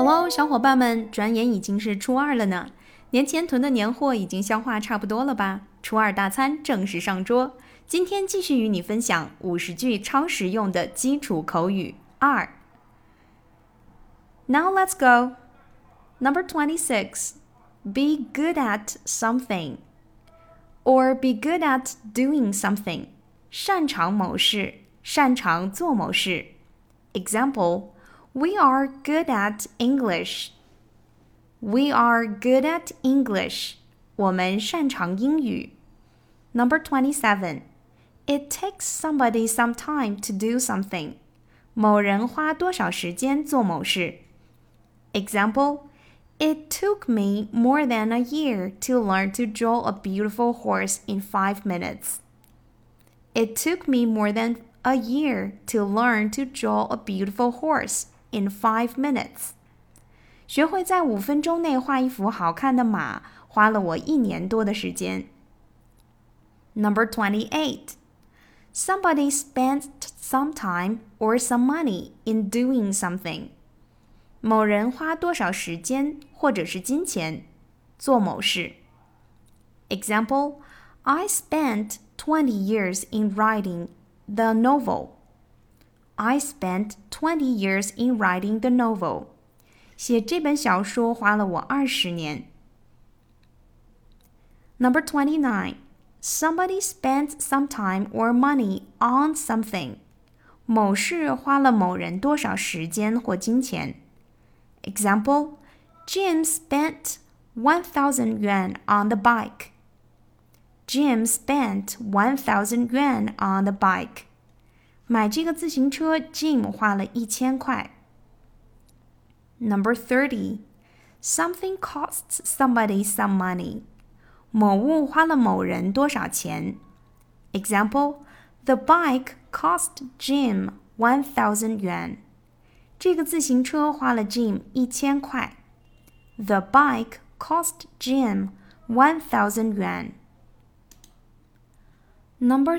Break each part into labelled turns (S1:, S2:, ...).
S1: Hello，小伙伴们，转眼已经是初二了呢。年前囤的年货已经消化差不多了吧？初二大餐正式上桌。今天继续与你分享50句超实用的基础口语2。Now let's go. Number 26. Be good at something. Or be good at doing something. 擅长某事，擅长做某事。Example.We are good at English. We are good at English. 我们擅长英语。Number 27. It takes somebody some time to do something. 某人花多少时间做某事。Example. It took me more than a year to learn to draw a beautiful horse in 5 minutes. It took me more than a year to learn to draw a beautiful horse.In 5 minutes. 学会在5分钟内画一幅好看的马，花了我1年多的时间。Number 28. Somebody spent some time or some money in doing something. 某人花多少时间或者是金钱做某事。Example, I spent 20 years in writing the novel.I spent 20 years in writing the novel. 写这本小说花了我20年。Number 29. Somebody spent some time or money on something. 某事花了某人多少时间或金钱。Example, Jim spent 1,000 yuan on the bike. Jim spent 1,000 yuan on the bike.买这个自行车 Jim 花了1000块。Number 30. Something costs somebody some money. 某物花了某人多少钱。Example, the bike cost Jim 1,000 yuan. 这个自行车花了 Jim 1000块。The bike cost Jim 1,000 yuan. Number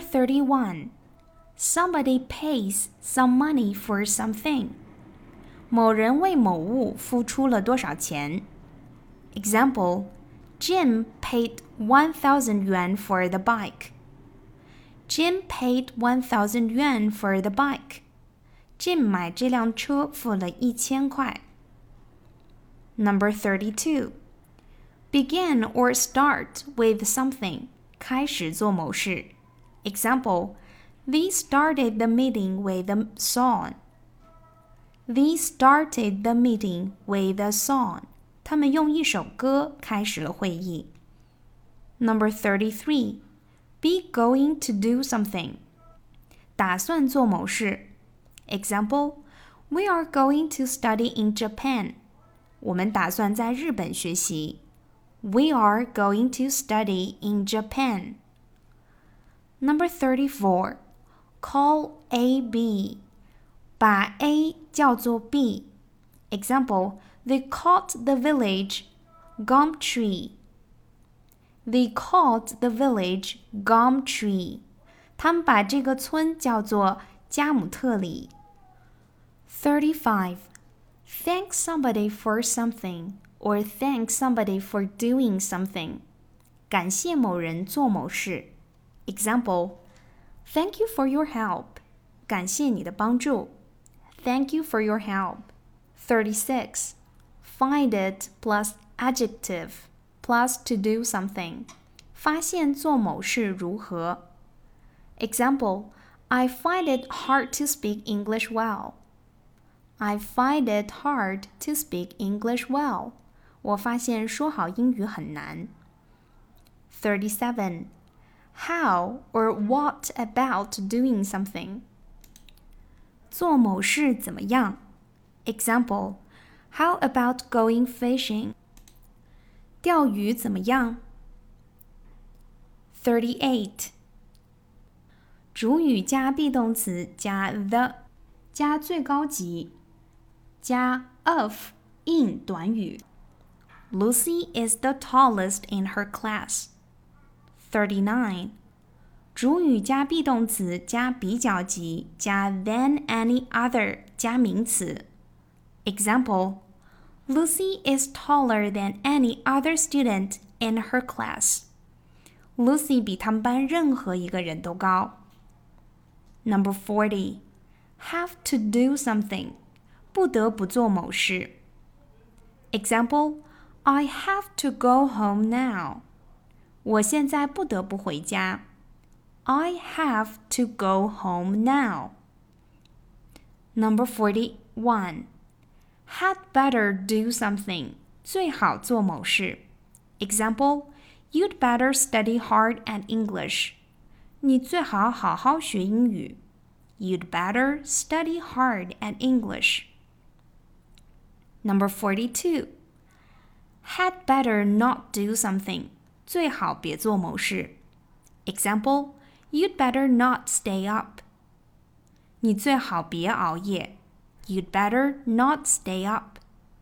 S1: 31.Somebody pays some money for something. 某人为某物付出了多少钱。Example, Jim paid 1,000 yuan for the bike. Jim paid 1,000 yuan for the bike. Jim 买这辆车付了1000块。Number 32. Begin or start with something. 开始做某事。Example,They started the meeting with a song. They started the meeting with a song. 他们用一首歌开始了会议。Number 33. Be going to do something. 打算做某事。Example, We are going to study in Japan. 我们打算在日本学习。We are going to study in Japan. Number 34.Call A B. 把 A 叫做 B. Example, they called the village Gum Tree. They called the village Gum Tree. 他们把这个村叫做加姆特里。35. Thank somebody for something or thank somebody for doing something. 感谢某人做某事。Example,Thank you for your help. 感谢你的帮助。Thank you for your help. 36. Find it plus adjective plus to do something. 发现做某事如何。Example, I find it hard to speak English well. I find it hard to speak English well. 我发现说好英语很难。37.How or what about doing something? 做某事怎么样？ Example, How about going fishing? 钓鱼怎么样？ 38. 主语加 be 动词加 the 加最高级加 of in 短语。Lucy is the tallest in her class. 39. 主语加 be 动词加比较级加 than any other 加名词。Example, Lucy is taller than any other student in her class. Lucy 比他们班任何一个人都高。Number 40. Have to do something. 不得不做某事。Example, I have to go home now. 我现在不得不回家。I have to go home now. Number 41. Had better do something. 最好做某事。Example, you'd better study hard at English. 你最好好好学英语。You'd better study hard at English. Number 42. Had better not do something. 最好别做某事。Example, you'd better not stay up. 你最好别熬夜。You'd better not stay up.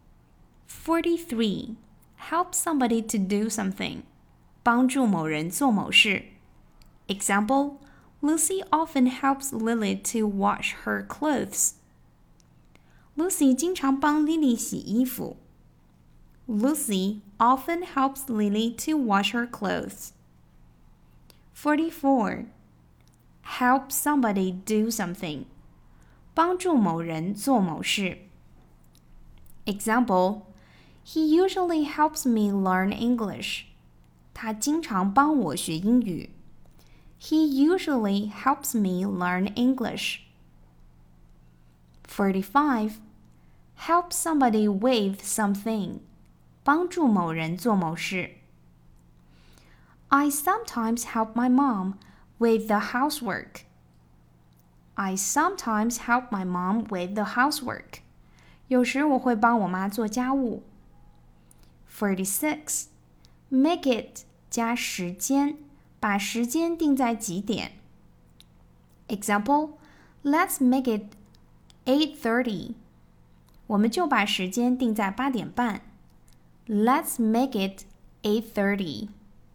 S1: 43. Help somebody to do something. 帮助某人做某事。Example, Lucy often helps Lily to wash her clothes. Lucy 经常帮 Lily 洗衣服。Lucy often helps Lily to wash her clothes. 44. Help somebody do something. 帮助某人做某事。Example, he usually helps me learn English. 他经常帮我学英语。He usually helps me learn English. 45. Help somebody with something. 帮助某人做某事。I sometimes help my mom with the housework. I sometimes help my mom with the housework. 有时我会帮我妈做家务。46. Make it 加时间，把时间定在几点。Example, let's make it 8:30. 我们就把时间定在8点半。Let's make it 8:30.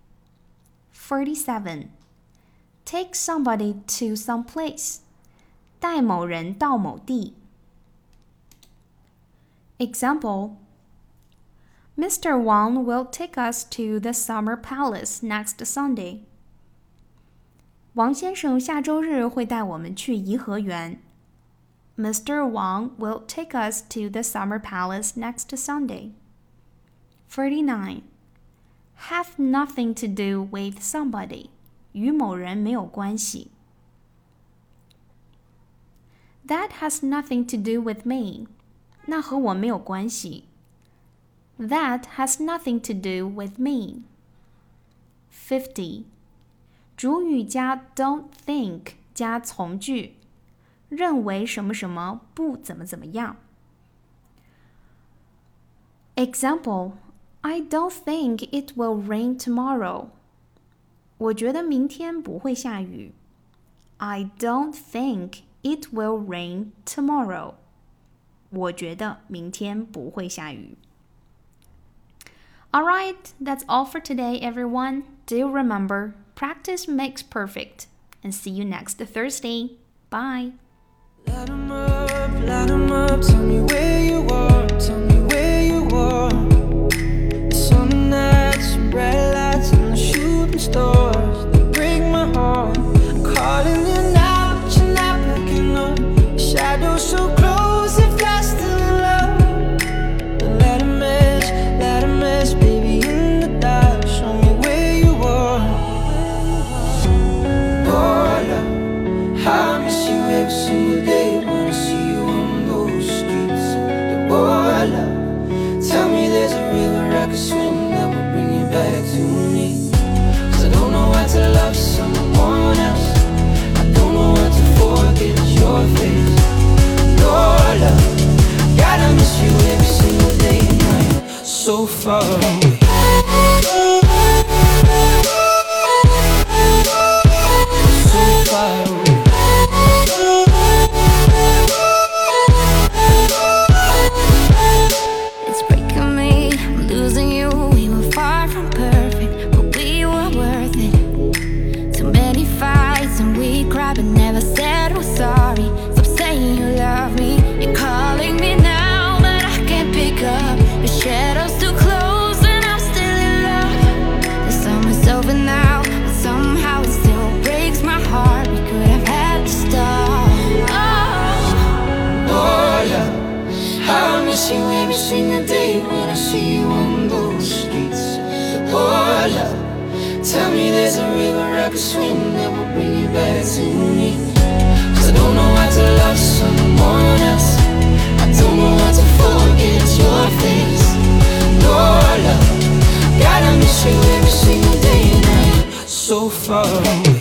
S1: 47. Take somebody to some place. 带某人到某地。Example, Mr. Wang will take us to the Summer Palace next Sunday. 王先生下周日会带我们去颐和园。Mr. Wang will take us to the Summer Palace next Sunday. 49. Have nothing to do with somebody. 与某人没有关系。That has nothing to do with me. 那和我没有关系。That has nothing to do with me. 50. 主语加 don't think 加从句，认为什么什么不怎么怎么样。Example, I don't think it will rain tomorrow. 我觉得明天不会下雨。I don't think it will rain tomorrow. 我觉得明天不会下雨。Alright, that's all for today, everyone. Do remember, practice makes perfect. And see you next Thursday. Bye.
S2: Light 'em up, tell me where you are, tell me where you are. Summer nights, bright lights, and the shooting stars, they break my heart. I'm calling you now, but you're not picking up. Shadows so close, if you're still in love. Let 'em mess, baby, in the dark. Show me where you are. Oh, love, I miss you every single day when I see you on those streets. Oh, love, tell me there's Tell me there's a river I could swim that will bring you back to me. 'Cause I don't know how to love someone else. I don't know how to forget your face. No love, gotta miss you every single day and night. So far away.